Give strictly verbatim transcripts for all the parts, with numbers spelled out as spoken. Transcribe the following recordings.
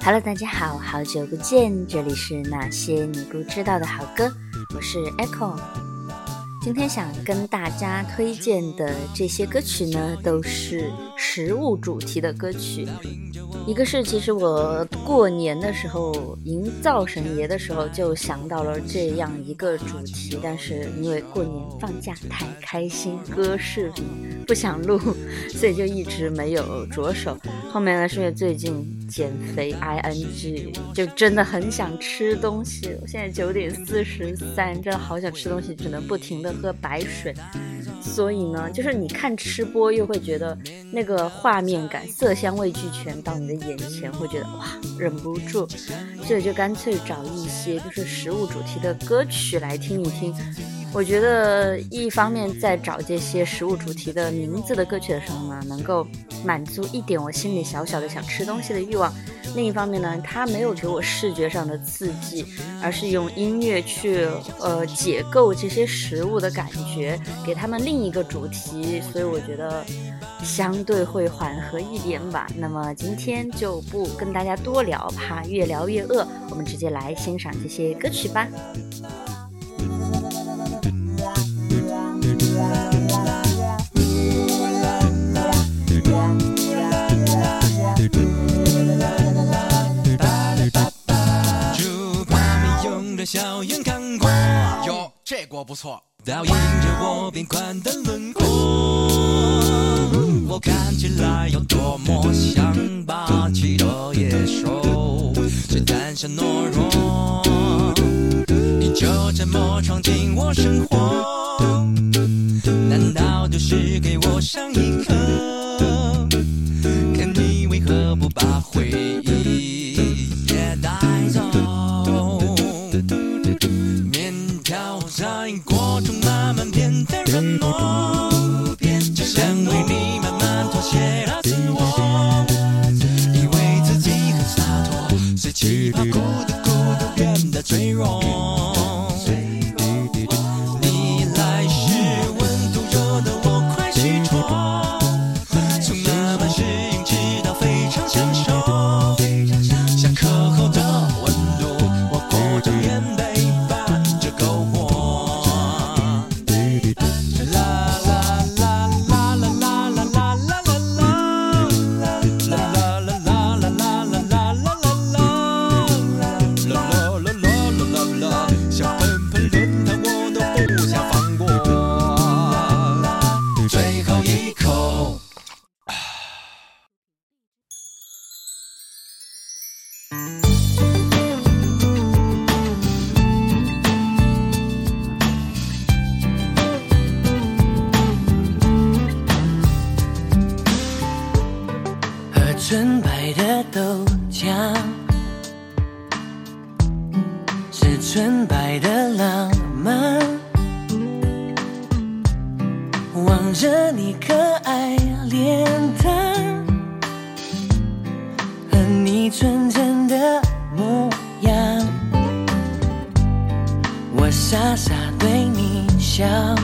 Hello， 大家好，好久不见，这里是那些你不知道的好歌，我是 Echo。今天想跟大家推荐的这些歌曲呢，都是食物主题的歌曲。一个是其实我过年的时候迎灶神爷的时候就想到了这样一个主题，但是因为过年放假太开心，歌视频不想录，所以就一直没有着手。后面呢是因为最近减肥 I N G 就真的很想吃东西，我现在九点四十三，真的好想吃东西，只能不停的喝白水。所以呢就是你看吃播又会觉得那个画面感色香味俱全到你的眼前，会觉得哇忍不住，所以就干脆找一些就是食物主题的歌曲来听一听。我觉得一方面在找这些食物主题的名字的歌曲的时候呢，能够满足一点我心里小小的想吃东西的欲望，另一方面呢它没有给我视觉上的刺激，而是用音乐去呃解构这些食物的感觉，给他们另一个主题，所以我觉得相对会缓和一点吧。那么今天就不跟大家多聊，怕越聊越饿，我们直接来欣赏这些歌曲吧。 小眼看过哟，这锅不错，倒映着我变宽的轮廓，我看起来有多么像霸气的野兽，却胆小懦弱，你就这么闯进我生活，难道就是给我上一课，看你为何不把回忆也带走，在锅中慢慢变得软糯，就像为你慢慢妥协了自我，以为自己很洒脱，随气泡孤独孤独变得脆弱，你来时温度热得我快虚脱，从慢慢适应直到非常享受，下课后的温度我裹着棉被纯白的豆浆，是纯白的浪漫，望着你可爱脸蛋和你纯真的模样，我傻傻对你笑，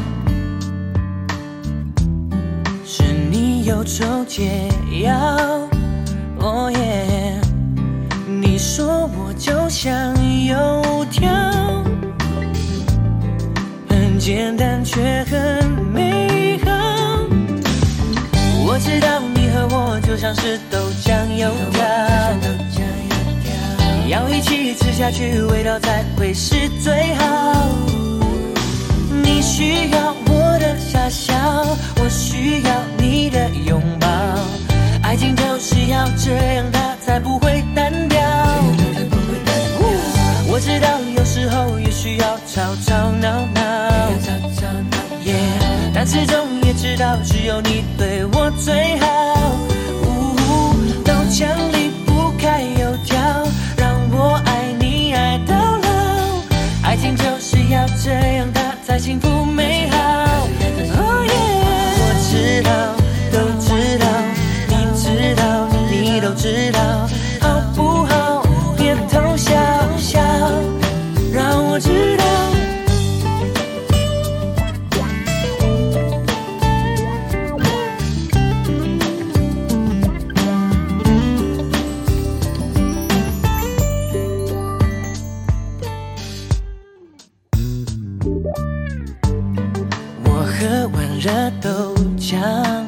是你忧愁解药，哦耶！你说我就像油条，很简单却很美好。我知道你和我就像是豆浆油条，要一起吃下去，味道才会是最好。你需要我的傻笑，我需要你的拥抱。爱情就是要这样，它才不会单调。我知道有时候也需要吵吵闹闹， yeah, 但始终也知道只有你对我最好。豆浆离不开油条，让我爱你爱到老。爱情就是要这样，它才幸福美好。Oh yeah, 我知道，都知道。知道，你都知道，好不好？别偷笑笑，让我知道。 喝完热豆浆，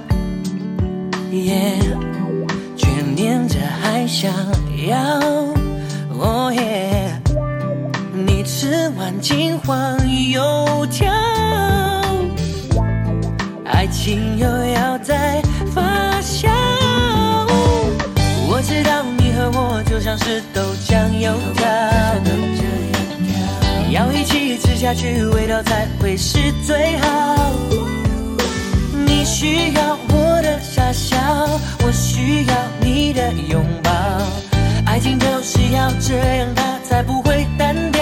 yeah， 却念着还想要， oh yeah， 你吃完金黄油条，爱情又要再发酵。我知道你和我就像是豆浆油条，要一起吃下去，味道才会是最好。你需要我的傻笑，我需要你的拥抱，爱情就是要这样，它才不会单调。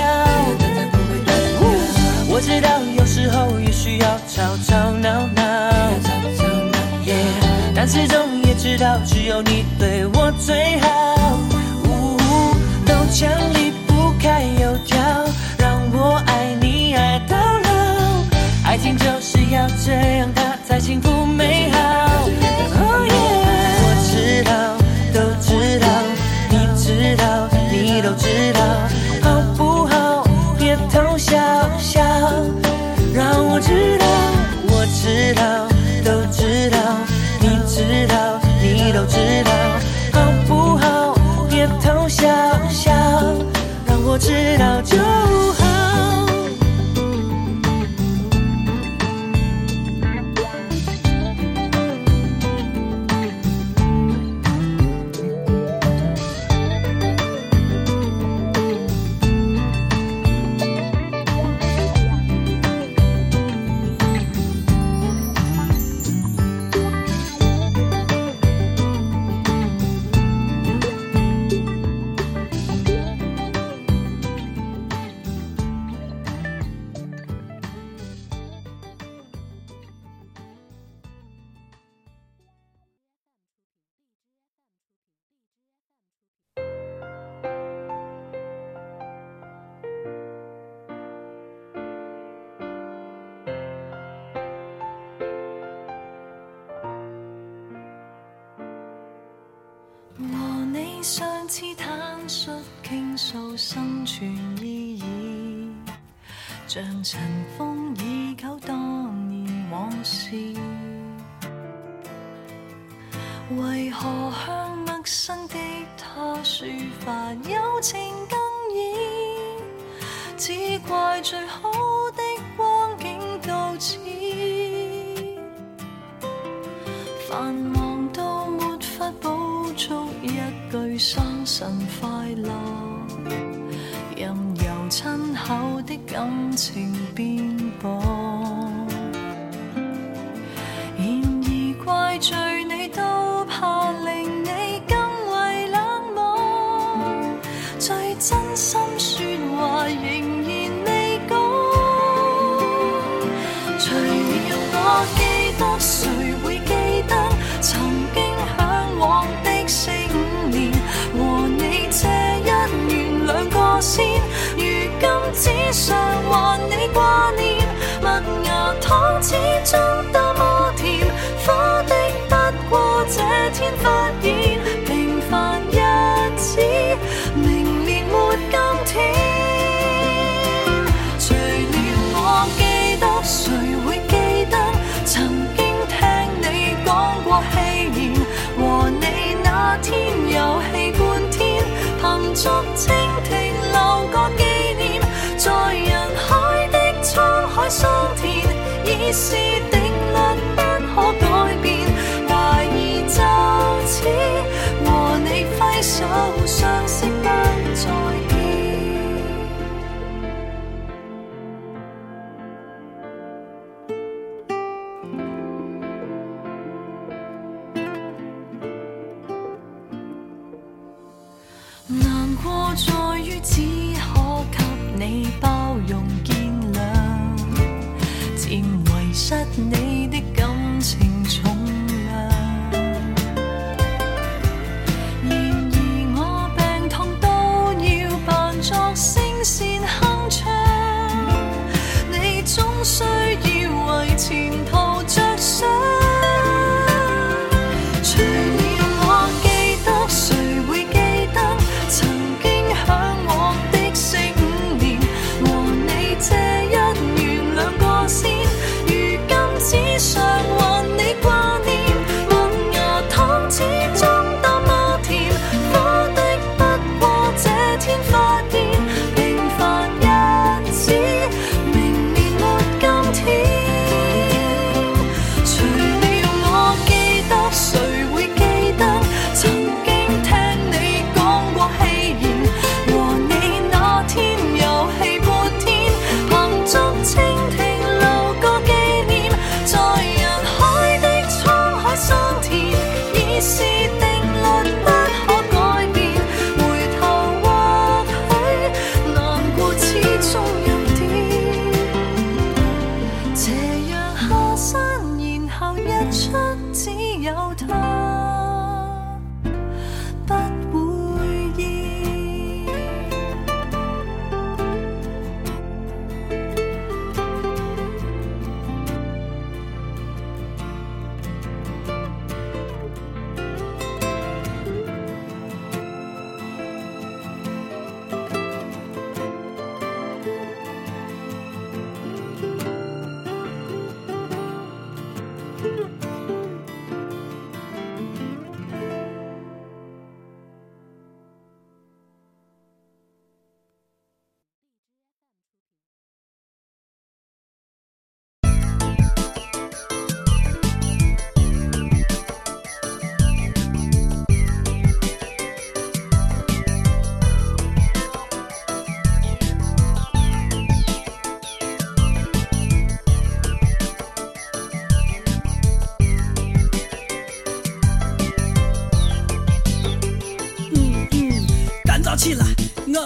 我知道有时候也需要吵吵闹闹， yeah， 但始终也知道只有你对我最好。豆浆离不开油条，让我爱你爱到老，爱情就是要这样，它才幸福美好。Oh yeah， 我知道，都知道，你知道，你都知道，好不好？别偷笑笑，让我知道，我知道，都知道，你知道，你都知道，好不好？别偷笑笑，让我知道就好。 相似坦率傾訴生存意義，像塵封已久當年往事，為何向陌生的他抒發友情更易，只怪最好的光景到此，繁忙到沒法補足一句生辰快樂，任由親厚的感情變薄，然而怪罪你都怕令你更為冷漠，最真心說話仍然未講，除了我記得誰會記得曾經向往的四五年，和你這一年兩個先，如今只想還你掛念，麥芽糖始終多麼甜，苦的不過這天發現，平凡日子明年沒今天。除了我記得誰會記得曾經聽你講過戲言，和你那天遊戲半天，憑逐蜻蜓留個紀念，在人海的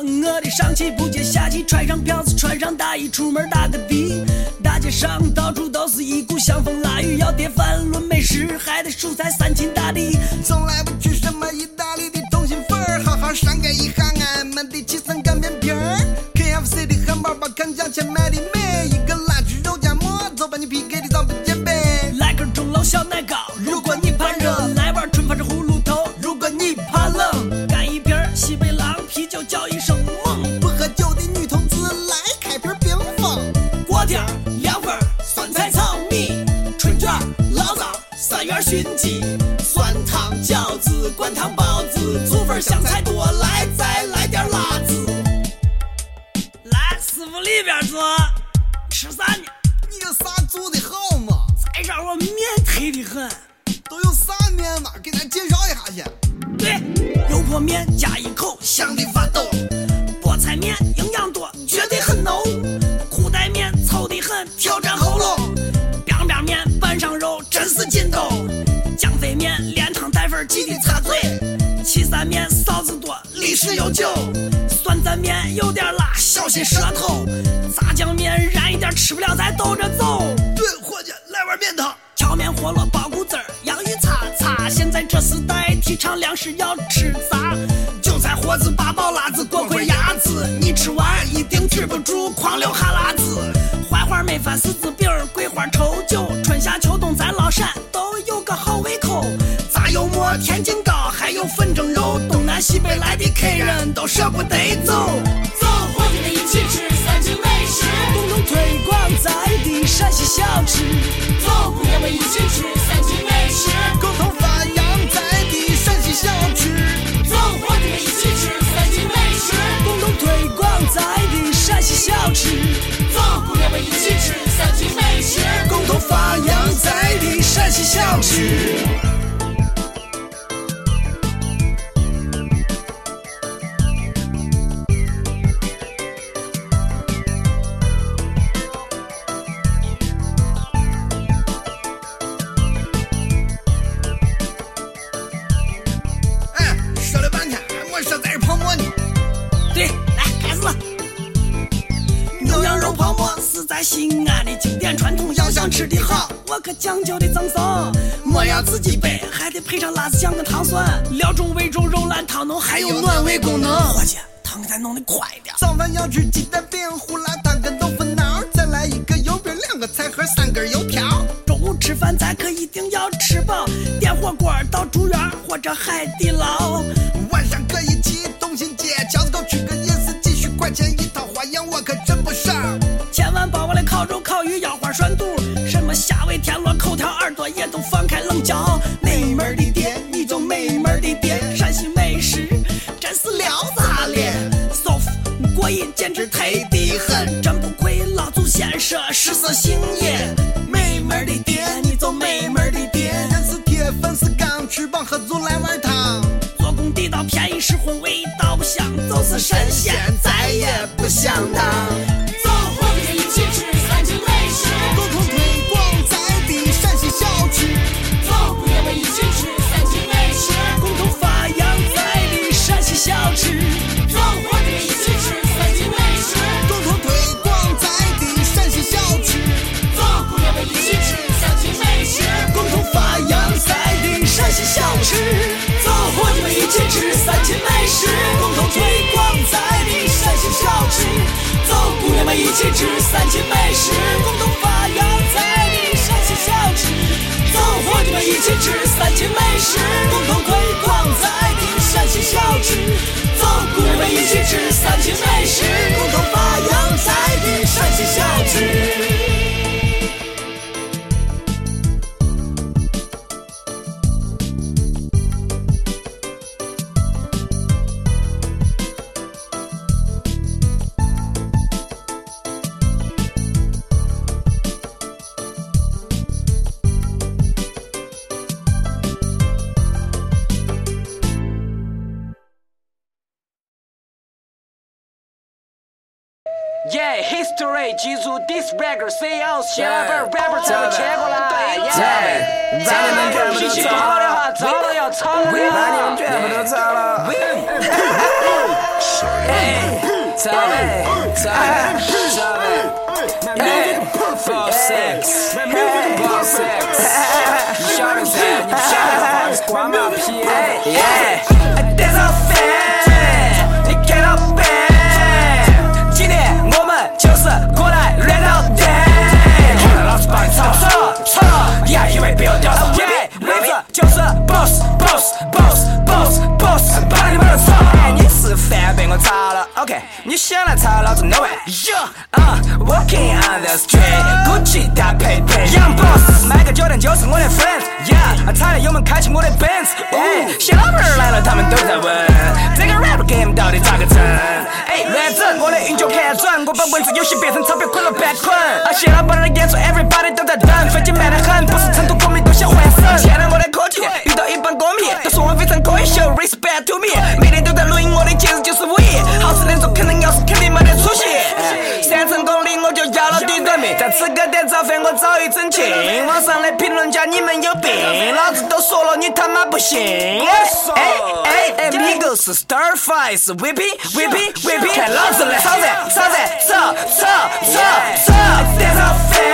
我得上气不接下气，穿上票子，穿上大衣，出门打个的。大街上到处都是一股香风腊雨，要碟饭论美食，还得蔬菜三秦大地。 从来不去什么意大利的通心粉儿，好好上盖一行俺们的七层干面皮儿。K F C 的汉堡包看价钱卖的美，一个辣猪肉夹馍，走把你 P K 的早不减肥。 来根钟楼小奶糕，如果你怕热；来碗春发是葫芦头，如果你怕冷。干一瓶西北狼啤酒，叫一声猛。 不喝酒的女同志来开瓶冰峰。 锅贴、凉粉、酸菜炒米、春卷、醪糟、三元熏鸡、酸汤饺子、灌汤包子、醋粉香菜多，来再来点辣子。来，师傅里边坐，吃啥呢？ 你有啥做的好吗？ 再让我面忒的很。 都有啥面嘛？给咱介绍一下去。 对，油泼面加一口，香的发抖。菠菜面营养多，绝对很浓。裤带面糙的很，挑战喉咙。biang biang面拌上肉，真是劲斗。酱飞面连汤带粉，记得擦嘴。岐山面臊子多，历史悠久。酸蘸面有点辣，小心舌头。炸酱面燃一点，吃不了再兜着走。 对，伙计，来碗面汤。 荞面饸饹包谷子儿，洋芋擦擦。现在这时代提倡粮食要吃杂，韭菜盒子八宝辣子锅盔鸭子，你吃完一定止不住狂流哈喇子。槐花焖饭柿子饼，桂花稠酒，春夏秋冬咱老陕都有个好胃口。炸油馍天津糕，还有粉蒸肉，东南西北来的客人都舍不得走。 走，伙计们一起吃三秦美食， 共同推广在地陕西小吃。 走，姑娘们一起吃三秦美食， 共同发扬在地陕西小吃。 走，伙计们一起吃三秦美食， 共同推广在地陕西小吃。 走，姑娘们一起吃三秦美食， 共同发扬在地陕西小吃。西安的经典传统，要想吃的好，我可讲究的赠送。莫要自己备，还得配上辣子酱跟糖蒜，料中味中，肉烂汤浓，还有暖胃功能。伙计，汤给咱弄得快点。 早饭要吃鸡蛋饼、胡辣汤跟豆腐脑，再来一个油饼、两个菜盒、三根油条。 中午吃饭咱可一定要吃饱，点火锅到住院或者海底捞。 晚上可以去东新街，饺子糕吃个夜市，几十块钱一套，花样我可真不少。 千万把我的烤肉、烤鱼、腰花、涮肚，什么虾尾、田螺、口条、耳朵也都放开冷嚼。美门的店，你就美门的店，陕西美食真是撩炸咧，舒服过瘾，简直忒的很，真不愧老祖先说食色性也。美门的店，你就美门的店， 人是铁，粉是钢，吃饱喝足来碗汤。 做工地道，便宜实惠，味道不香，就是神仙再也不想当。 一起吃三秦美食， 共同推广在地陕西小吃。 走，姑娘们一起吃三秦美食， 共同发扬在地陕西小吃。 走，伙计们一起吃三秦美食， 共同推广在地陕西小吃。 走，姑娘们一起吃三秦美食， 共同发扬在地陕西小吃。走，伙计们一起吃三秦美食，共同推广在地陕西小吃。走，姑娘们一起吃三秦美食，共同发扬在地陕西小吃。走，伙计们一起吃三秦美食，共同推广在地陕西小吃。走，姑娘们一起吃三秦美食，共同发扬在地陕西小吃。 Yeah, history 记住 this record C L 小本 rapper 咱们切过来 Yeah， 咱们脾气不好的话早都要吵了，那你们全部都吵了。 Hey, tell me, tell me, tell me. Hey, four six, four six. 你笑的谁？你笑的话是关马屁。Yeah, that's a fan. 你看到没？今天我们就是过来乱到底。看到老子把你操操操，你还以为别人屌丝？妹子就是 boss boss boss boss boss， 把你们的操！你吃饭被我炒了 ，OK？ 你想来炒老子 no way。Yo， 啊 ，Walking on the street，Gucci 搭配配 ，Young boss， 买个酒店就是我的 friends，Yeah， 踩了油门开启我的 Benz， 哎，小老妹儿来了，他们都在问，这个 rap game 到底咋个整？哎，乱整，我的运就看准，我把文字游戏变成钞票捆了半捆。啊，谢老板的演出 ，everybody 都在等，飞机慢得很，不是成都歌迷都想换省。现在我的科技遇到一帮歌迷，都说我非常可以秀 ，respect to me， 每天都在录音，我的节日就是五一，好吃的做肯定要是肯定没得出息。三成功力我就要了第个名，在吃个点早饭我早已整清，网上的评论家你们有病，老子都说了你他妈不信。哎哎哎 ，Migos 是 Starfire 是 Whippy Whippy Whippy， 看老子来炒菜炒菜炒炒炒炒 ，That's a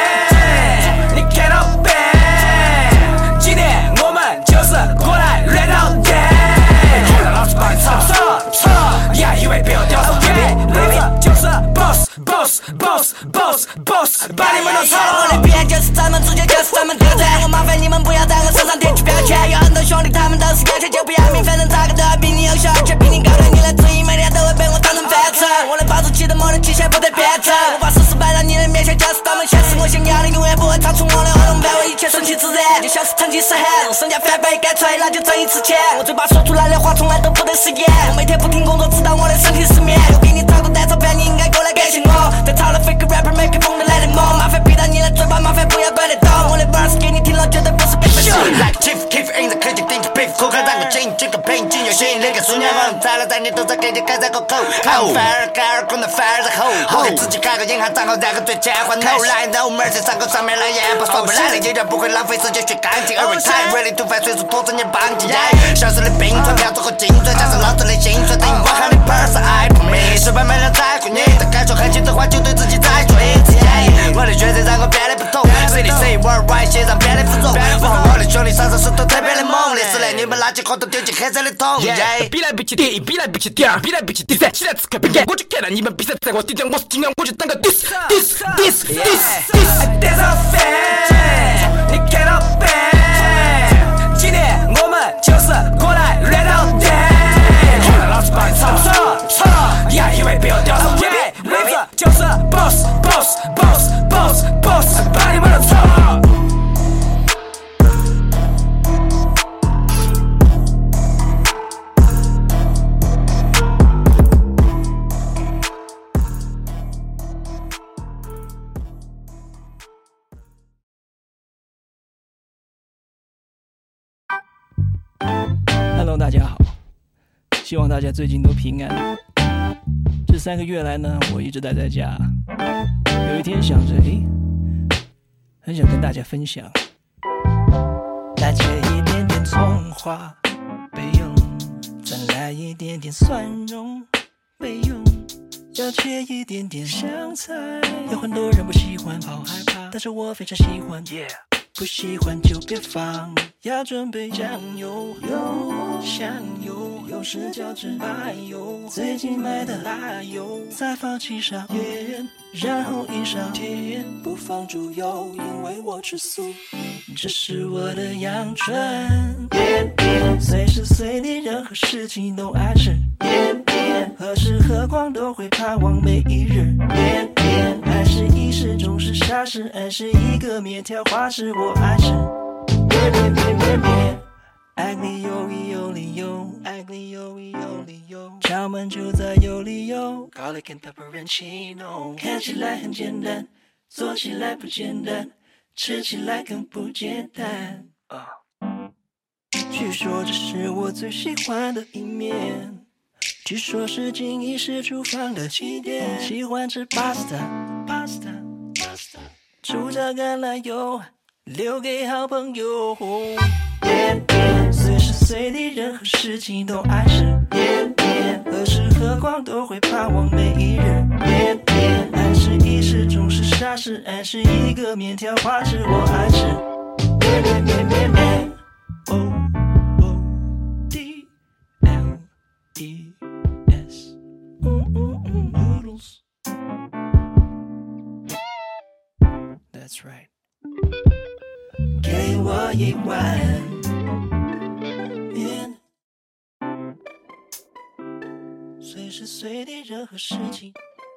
fan， 你看到没？今天我们就是过来乱到底，看到老子把你炒炒炒，你还以为别人屌丝？妹子就是 boss boss boss boss boss， 把你们都炒了。我的边就是咱们，主角就是咱们，对不对？我麻烦你们不要在我身上贴起标签，有很多兄弟他们都是有钱就不要命，反正咋个都要比你优秀，而且比你高的你的质疑每天都会被我当成饭吃。我的保质期的魔力极限不得变质，我把事实摆到你的面前，就是他们现实，我想要的永远不会超出我的活动范围，一切顺其自然，就像是成吉思汗，让身价翻倍干脆那就挣一次钱。我嘴巴说出来的话从来都不得食言，我每天不停工作直到我的身体失眠，我给你找个单钞票你应该过来感谢我，在炒了 fake rapper make it 疯的来的梦，麻烦闭到你的嘴巴，麻烦不要怪得动，我的 verse 给你听了绝对不是被分手。Like chief keep in the 科技顶着 beef， 苦口让个劲，这个配劲有吸引力，个数年王在了在你都在给你开在口口，靠反而盖尔功能反而在后，我给自己开个银行账号，然后对钱还 no line no mercy， 上口上面来演，不算不来的一点不会浪费时间去干净，而 retire ready to fight， 随时拖着你绑紧，小时的冰川飘走和金砖，加上老子的心酸，等于我喊你 person I promise， 失败没人在乎你的感受，很轻的话就对自己再说一次，我的抉择让我变得不同 ，C D C worldwide 线上变得负重，我的兄弟上手是都特别的猛烈，是来你们垃圾货都丢进黑色的桶，比来比去第一，比来比去第二，比来比去第三，起来吃开比干，我就看到你们比赛在我顶上，我是尽量我就当个 diss diss diss diss diss，That's a fan， 你看到没？今天我们就是过来乱到底，看到老子把你炒炒炒，你还以为别人屌丝？妹子就是 boss boss boss boss boss， 把你们都炒了。 Hello， 大家好，希望大家最近都平安。这三个月来呢，我一直待在家。有一天想着，诶，很想跟大家分享。来切一点点葱花备用，再来一点点蒜蓉备用，要切一点点香菜。有很多人不喜欢，好害怕，但是我非常喜欢。Yeah。不喜欢就别放，要准备酱油、油、香油，有时叫芝麻油，最近买的辣油，再放七勺盐，然后一勺甜，不放猪油，因为我吃素，这是我的阳春。甜甜，随时随地任何事情都爱吃。甜甜，何时何况都会盼望每一日。甜甜，爱是一时总是傻事，爱是一个面条花式，我爱吃。面面面面面，爱你有理有理由，爱你有理有理由，敲门就在有理由。Garlic and pepperoncino， 看起来很简单，做起来不简单，吃起来更不简单。Uh. 据说这是我最喜欢的一面，据说是经意是厨房的起点。喜欢吃 pasta pasta pasta， 主角橄榄油留给好朋友。甜甜，随时随地任何事情都爱吃。甜甜， 变，何时何况都会盼望每一日变变。爱是一时总是傻事，爱是一个面条花式，我爱吃面面面面面。O O D L E S， 嗯嗯嗯 ，noodles。That's right。给我一碗面，随时随地任何事情。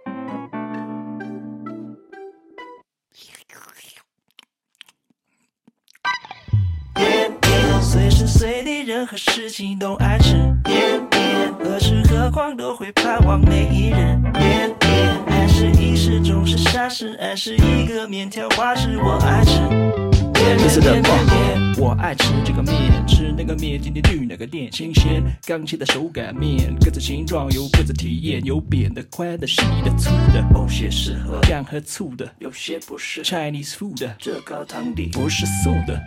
面面，随时随地任何事情都爱吃面面，何时何况都会盼望每一日面面。爱是一时总是傻事，爱是一个面条花式，我爱吃。这是的话，我爱吃这个面，吃那个面，今天去哪个店？新鲜刚切的手擀面，各自形状有各自体验，有扁的、宽的、细的、粗的，某些适合酱和醋的，有些不是 Chinese food， 这高汤底不是素的。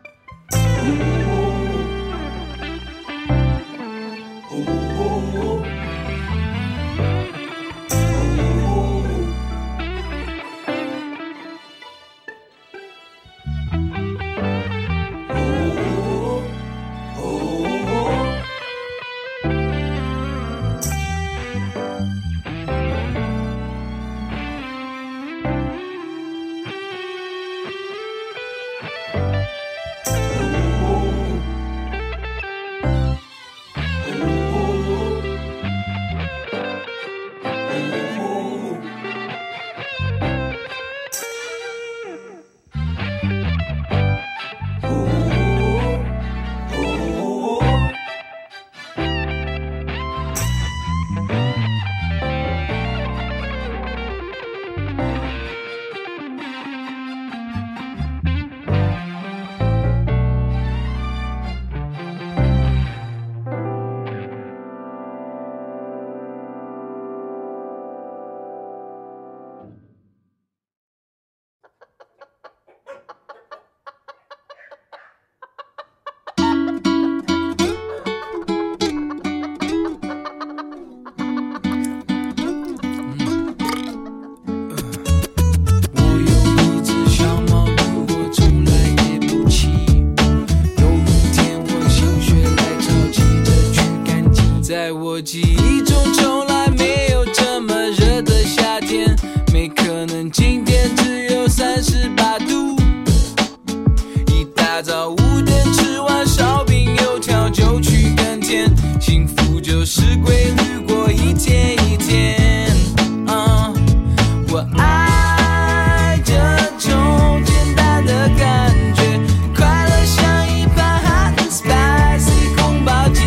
在我记忆中从来没有这么热的夏天，没可能今天只有三十八度。一大早五点吃完烧饼油条就去耕田，幸福就是规律过一天一天。uh, 我爱这种简单的感觉，快乐像一盘 hot and spicy 宫保鸡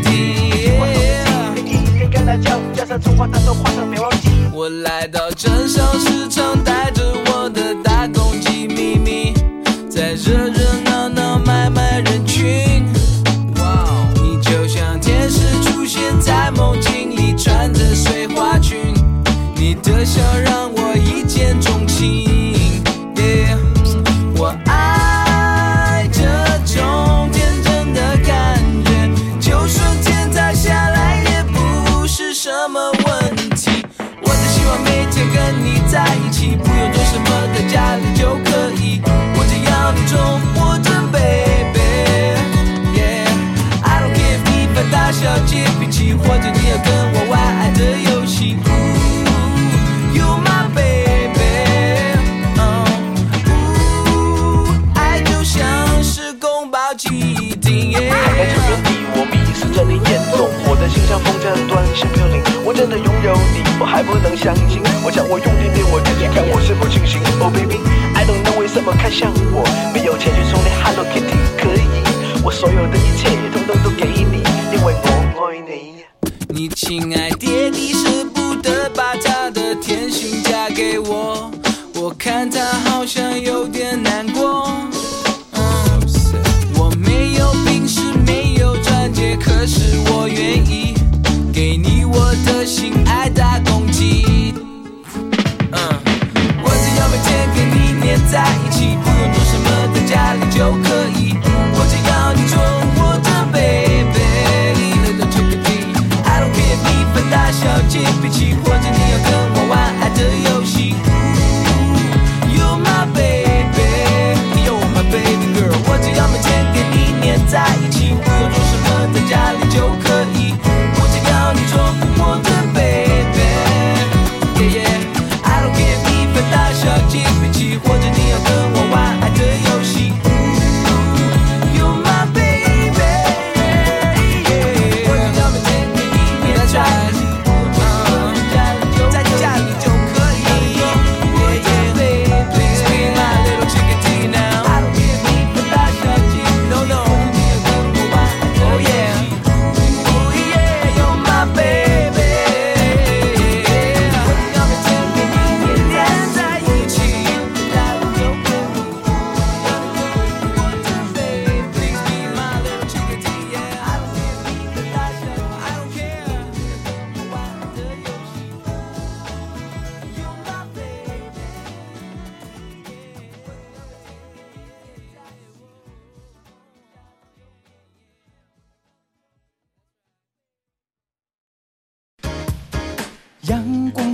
我来到镇上市场，带着我的大公鸡咪咪，在热热闹闹买卖人群。你就像天使出现在梦境里，穿着碎花裙，你的笑让我一见钟情。yeah. 我爱这种天真的感觉，就说天塌下来也不是什么问题。我只希望每天跟你在一起，不用做什么，在家里就可以。我只要你宠我的 baby， yeah。 I don't care if 你犯大小姐脾气，或者你要跟我玩爱的游戏。Ooh, you're my baby， uh, ooh, 爱就像是宫保鸡丁。yeah。 在这原地，我迷失在你眼中，我的心像风筝断线飘零。我真的拥有你，我还不能相信。我想我用力对我自己看，我是不清醒。Oh baby， I don't know 为什么看向我，没有钱去充电 Hello Kitty 可以，我所有的一切统统都给你，因为我爱你。 你亲爱爹地舍不得把他的甜心嫁给我，我看他好像有点难过。嗯，我没有平时没有钻戒，可是我愿意给你我的心爱大公鸡。嗯，我只要每天跟你黏在一起，不用做什么，在家里就可以。我只要你宠我的 baby，I don't care if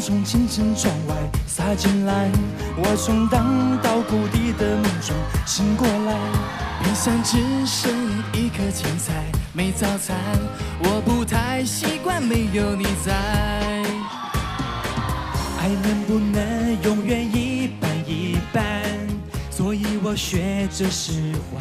从清晨窗外洒进来，我从荡到谷底的梦中醒过来，冰箱只剩一颗青菜，没早餐，我不太习惯没有你在。爱能不能永远一半一半，所以我学着释怀。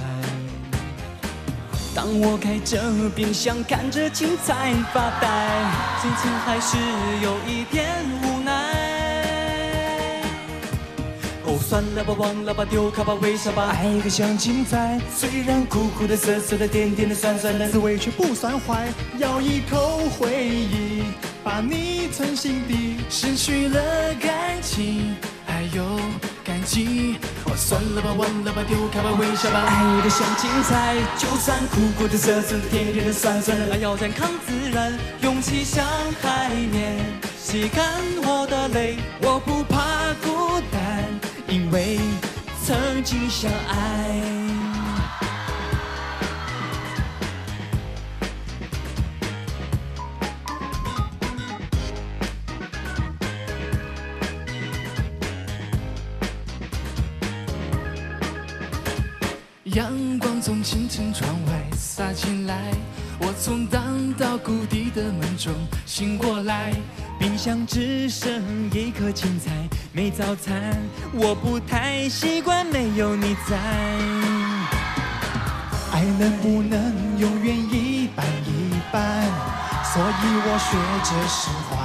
当我开着冰箱看着青菜发呆，心情还是有一点无奈。哦，算了吧，忘了吧，丢开吧，微笑吧，爱个像青菜，虽然苦苦的、涩涩的、甜甜的、酸酸的，滋味却不算坏。咬一口回忆，把你存心底，失去了感情，还有感激。哦，算了吧，忘了吧，丢开吧，微笑吧，爱的像青菜，就算苦苦的、涩涩的、甜甜的、酸酸的，要健康自然，勇气像海绵，吸干我的泪，我不怕孤单，因为曾经相爱。阳光从清晨窗外洒进来，我从荡到谷底的梦中醒过来，冰箱只剩一颗青菜，没早餐，我不太习惯没有你在。爱能不能永远一半一半，所以我学着释怀。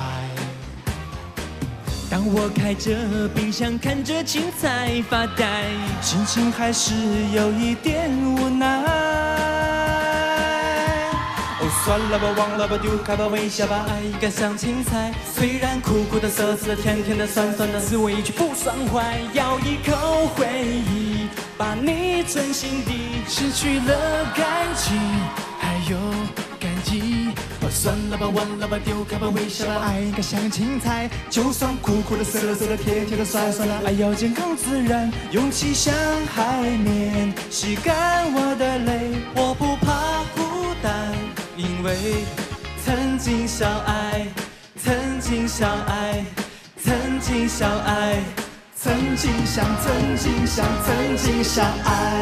当我开着冰箱看着青菜发呆，心情还是有一点无奈。哦，算了吧，忘了吧，丢开吧，微笑吧，爱应该像青菜，虽然苦苦的、涩涩的、甜甜的、酸酸的，滋味却不算坏。咬一口回忆，把你存心底，失去了感情，还有感激。哦，算了吧，忘了吧，丢开吧，微笑吧，爱应该像青菜，就算苦苦的、涩涩的、甜甜的、酸酸的，爱要健康自然，勇气像海绵，吸干我的泪，我不怕孤单，因为曾经相爱，曾经相爱，曾经相爱，曾经相，曾经相，曾经相爱。